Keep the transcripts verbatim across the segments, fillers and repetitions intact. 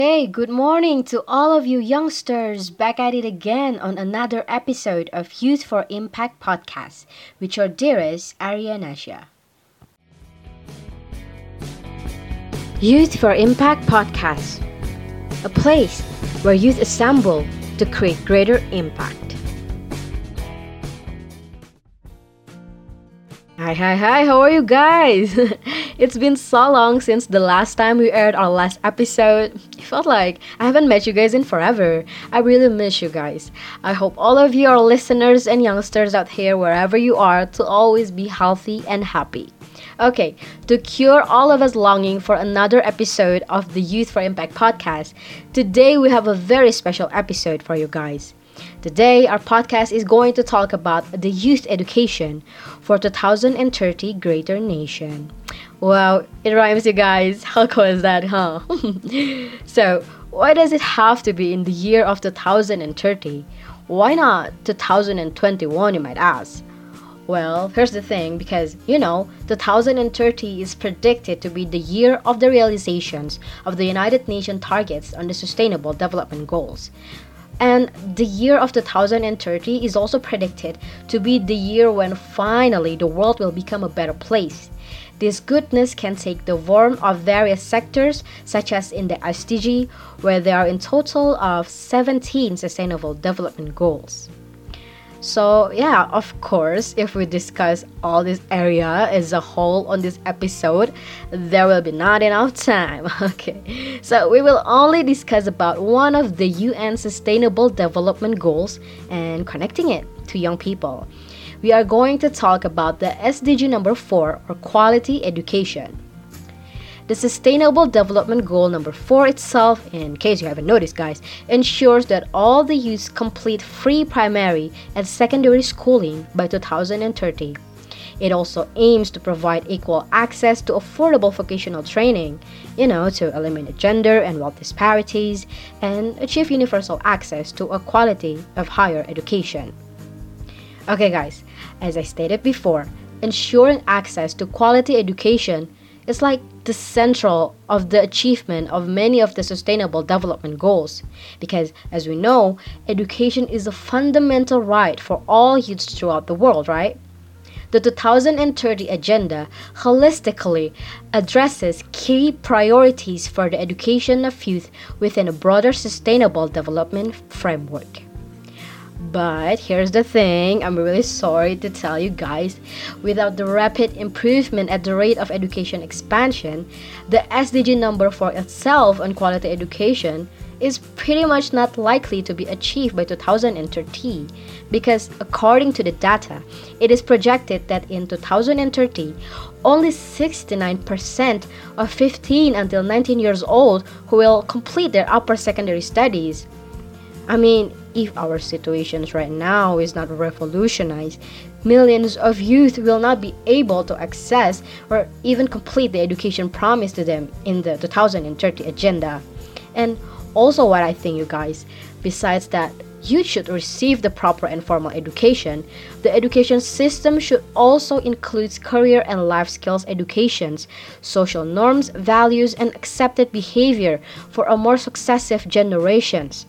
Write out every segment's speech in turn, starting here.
Hey, good morning to all of you youngsters back at it again on another episode of Youth for Impact podcast with your dearest Arianasha. Youth for Impact podcast, a place where youth assemble to create greater impact. Hi, hi, hi, how are you guys? It's been so long since the last time we aired our last episode. It felt like I haven't met you guys in forever. I really miss you guys. I hope all of you, our listeners and youngsters out here, wherever you are, to always be healthy and happy. Okay, to cure all of us longing for another episode of the Youth for Impact podcast, today we have a very special episode for you guys. Today, our podcast is going to talk about the youth education for two thousand thirty Greater Nation. Wow, it rhymes, you guys. How cool is that, huh? So, why does it have to be in the year of two thousand thirty? Why not two thousand twenty-one, you might ask? Well, here's the thing, because, you know, two thousand thirty is predicted to be the year of the realizations of the United Nations targets on the Sustainable Development Goals. And the year of two thousand thirty is also predicted to be the year when finally the world will become a better place. This goodness can take the form of various sectors, such as in the S D G, where there are in total of seventeen Sustainable Development Goals. So yeah, of course, if we discuss all this area as a whole on this episode, there will be not enough time. Okay, so we will only discuss about one of the U N Sustainable Development Goals and connecting it to young people. We are going to talk about the S D G number four, or quality education. The Sustainable Development Goal number four itself, in case you haven't noticed guys, ensures that all the youths complete free primary and secondary schooling by two thousand thirty. It also aims to provide equal access to affordable vocational training, you know, to eliminate gender and wealth disparities, and achieve universal access to a quality of higher education. Okay guys, as I stated before, ensuring access to quality education is like the central of the achievement of many of the Sustainable Development Goals, because as we know, education is a fundamental right for all youths throughout the world, right? The two thousand thirty Agenda holistically addresses key priorities for the education of youth within a broader sustainable development framework. But here's the thing, I'm really sorry to tell you guys, without the rapid improvement at the rate of education expansion, the S D G number four itself on quality education is pretty much not likely to be achieved by two thousand thirty, because according to the data, it is projected that in two thousand thirty, only sixty-nine percent of fifteen until nineteen years old who will complete their upper secondary studies. I mean, if our situations right now is not revolutionized, millions of youth will not be able to access or even complete the education promised to them in the two thousand thirty agenda. And also what I think, you guys, besides that youth should receive the proper and formal education, the education system should also include career and life skills educations, social norms, values, and accepted behavior for a more successive generations.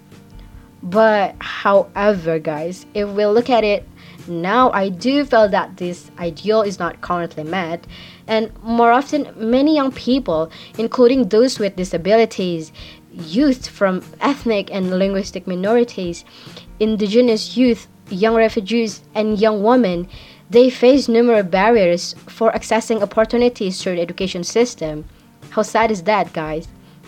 But however guys, if we look at it now, I do feel that this ideal is not currently met, and more often many young people, including those with disabilities, youth from ethnic and linguistic minorities, indigenous youth, young refugees, and young women, they face numerous barriers for accessing opportunities through the education system. How sad is that, guys?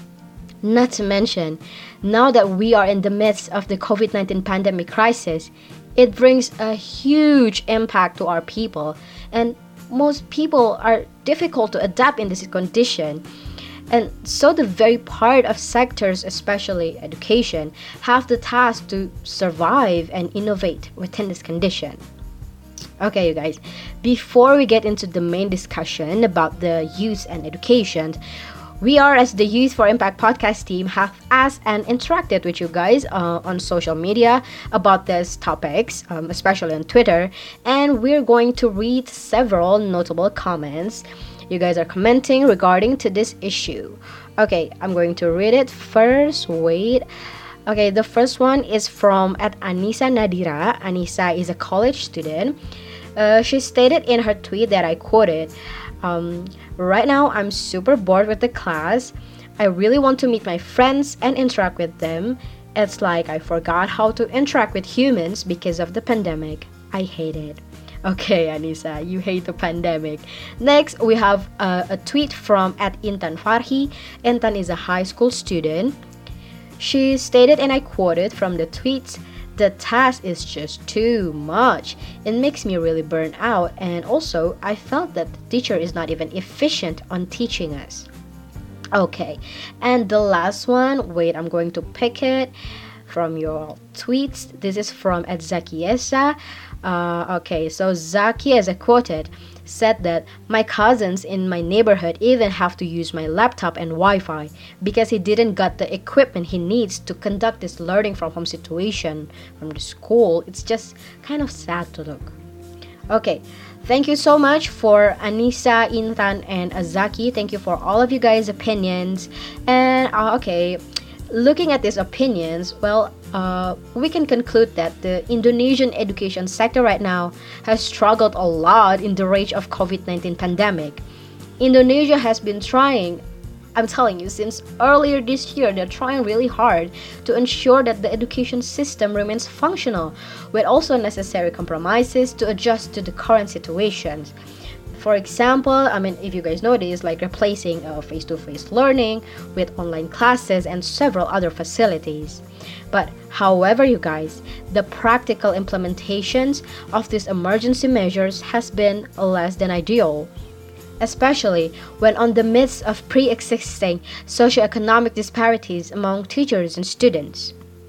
Not to mention, now that we are in the midst of the covid nineteen pandemic crisis, it brings a huge impact to our people, and most people are difficult to adapt in this condition. And so the very part of sectors, especially education, have the task to survive and innovate within this condition. Okay, you guys, before we get into the main discussion about the youth and education, we are, as the Youth for Impact podcast team, have asked and interacted with you guys uh, on social media about these topics, um, especially on Twitter, and we're going to read several notable comments you guys are commenting regarding to this issue. Okay, I'm going to read it first. Wait. Okay, the first one is from at Anissa Nadira. Anissa is a college student. Uh, she stated in her tweet that I quoted, um, right now I'm super bored with the class. I really want to meet my friends and interact with them. It's like I forgot how to interact with humans because of the pandemic. I hate it. Okay, Anissa, you hate the pandemic. Next, we have uh, a tweet from at Intan Farhi. Intan is a high school student. She stated, and I quoted from the tweets, the task is just too much. It makes me really burn out, and also I felt that the teacher is not even efficient on teaching us. Okay, and the last one, wait, I'm going to pick it from your tweets. This is from at Zakiesa. Uh, okay, so Zakiesa quoted, said that my cousins in my neighborhood even have to use my laptop and Wi-Fi because he didn't got the equipment he needs to conduct this learning from home situation from the school. It's just kind of sad to look. Okay, thank you so much for Anissa, Intan, and Azaki. Thank you for all of you guys' opinions. And uh, okay, looking at these opinions, well, uh, we can conclude that the Indonesian education sector right now has struggled a lot in the rage of covid nineteen pandemic. Indonesia has been trying, I'm telling you, since earlier this year, they're trying really hard to ensure that the education system remains functional, with also necessary compromises to adjust to the current situations. For example, I mean, if you guys know this, like replacing uh, face-to-face learning with online classes and several other facilities. But however, you guys, the practical implementations of these emergency measures has been less than ideal, especially when on the midst of pre-existing socioeconomic disparities among teachers and students.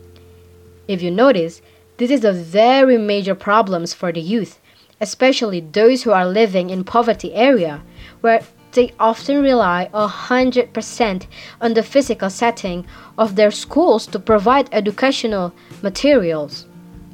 If you notice, this is a very major problem for the youth, especially those who are living in poverty area, where they often rely one hundred percent on the physical setting of their schools to provide educational materials.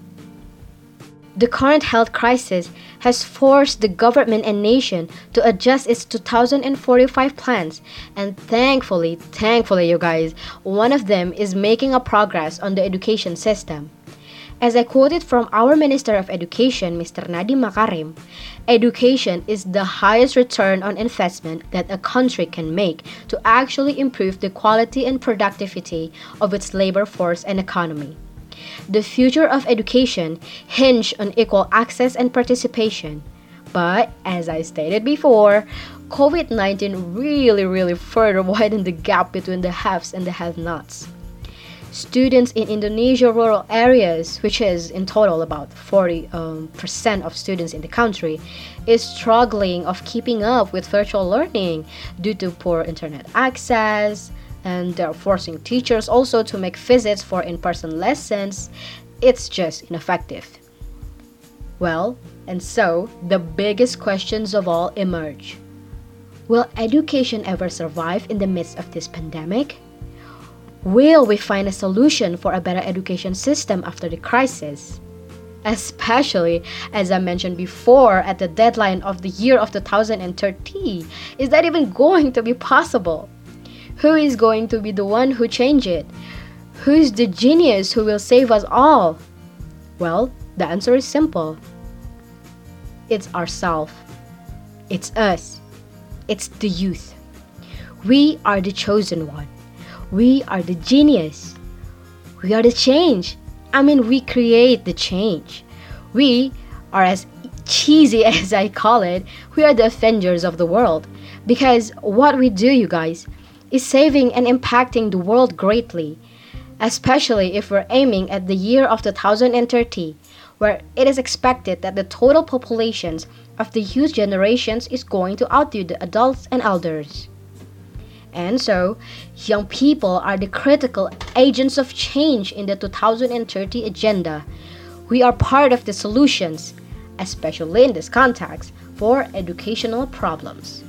The current health crisis has forced the government and nation to adjust its two thousand forty-five plans, and thankfully, thankfully you guys, one of them is making a progress on the education system. As I quoted from our Minister of Education, Mister Nadiem Makarim, education is the highest return on investment that a country can make to actually improve the quality and productivity of its labor force and economy. The future of education hinges on equal access and participation. But, as I stated before, covid nineteen really, really further widened the gap between the haves and the have-nots. Students in Indonesia rural areas, which is in total about forty percent um, of students in the country, is struggling of keeping up with virtual learning due to poor internet access, and they're forcing teachers also to make visits for in-person lessons. It's just ineffective. Well, and so the biggest questions of all emerge. Will education ever survive in the midst of this pandemic? Will we find a solution for a better education system after the crisis? Especially, as I mentioned before, at the deadline of the year of two thousand thirty, is that even going to be possible? Who is going to be the one who change it? Who's the genius who will save us all? Well, the answer is simple. It's ourselves. It's us. It's the youth. We are the chosen one. We are the genius. We are the change. I mean, we create the change. We are, as cheesy as I call it, we are the Avengers of the world. Because what we do, you guys, is saving and impacting the world greatly. Especially if we're aiming at the year of two thousand thirty, where it is expected that the total populations of the youth generations is going to outdo the adults and elders. And so, young people are the critical agents of change in the two thousand thirty agenda. We are part of the solutions, especially in this context, for educational problems.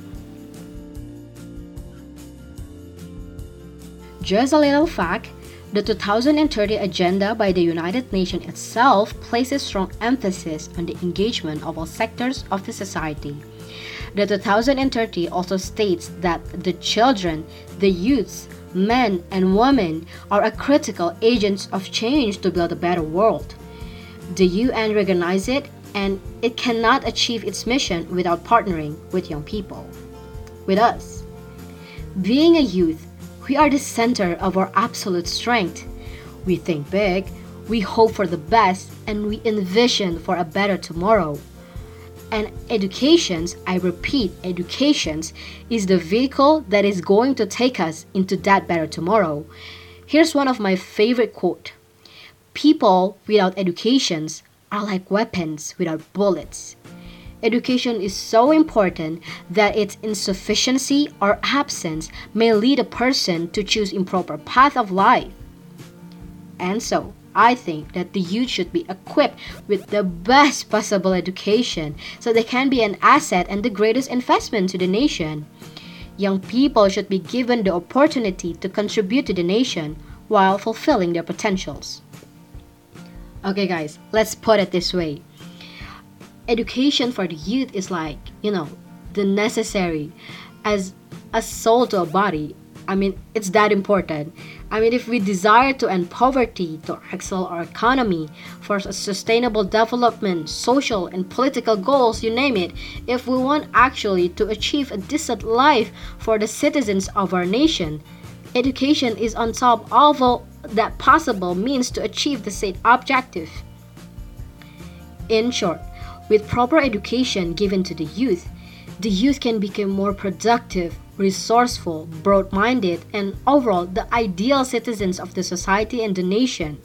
Just a little fact, the two thousand thirty agenda by the United Nations itself places strong emphasis on the engagement of all sectors of the society. The two thousand thirty also states that the children, the youths, men and women are a critical agents of change to build a better world. The U N recognizes it, and it cannot achieve its mission without partnering with young people, with us. Being a youth, we are the center of our absolute strength. We think big, we hope for the best, and we envision for a better tomorrow. And educations, I repeat, educations is the vehicle that is going to take us into that better tomorrow. Here's one of my favorite quote. People without educations are like weapons without bullets. Education is so important that its insufficiency or absence may lead a person to choose improper path of life. And so, I think that the youth should be equipped with the best possible education so they can be an asset and the greatest investment to the nation. Young people should be given the opportunity to contribute to the nation while fulfilling their potentials. Okay guys, let's put it this way. Education for the youth is like, you know, the necessary as a soul to a body. I mean, it's that important. I mean, if we desire to end poverty, to excel our economy, for a sustainable development, social and political goals, you name it, if we want actually to achieve a decent life for the citizens of our nation, education is on top of all that possible means to achieve the said objective. In short, with proper education given to the youth, the youth can become more productive, resourceful, broad-minded, and overall the ideal citizens of the society and the nation.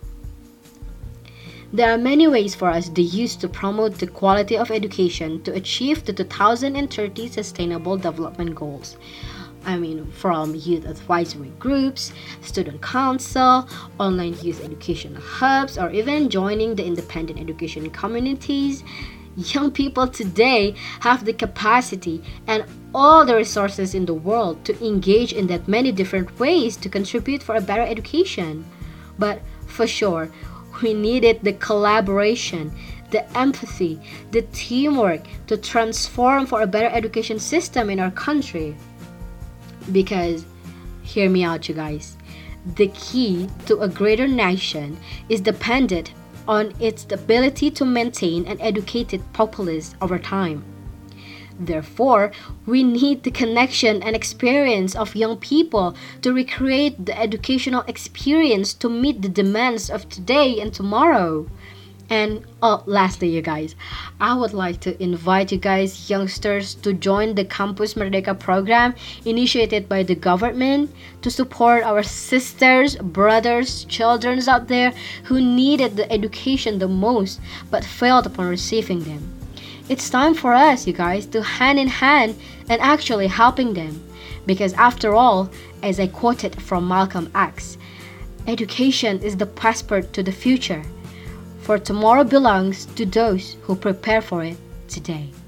There are many ways for us, the youth, to promote the quality of education to achieve the two thousand thirty Sustainable Development Goals. I mean, from youth advisory groups, student council, online youth education hubs, or even joining the independent education communities. Young people today have the capacity and all the resources in the world to engage in that many different ways to contribute for a better education. But for sure, we needed the collaboration, the empathy, the teamwork to transform for a better education system in our country. Because, hear me out you guys, the key to a greater nation is dependent on its ability to maintain an educated populace over time. Therefore, we need the connection and experience of young people to recreate the educational experience to meet the demands of today and tomorrow. And oh, lastly, you guys, I would like to invite you guys, youngsters, to join the Campus Merdeka program initiated by the government to support our sisters, brothers, children out there who needed the education the most but failed upon receiving them. It's time for us, you guys, to hand in hand and actually helping them. Because after all, as I quoted from Malcolm X, education is the passport to the future. For tomorrow belongs to those who prepare for it today.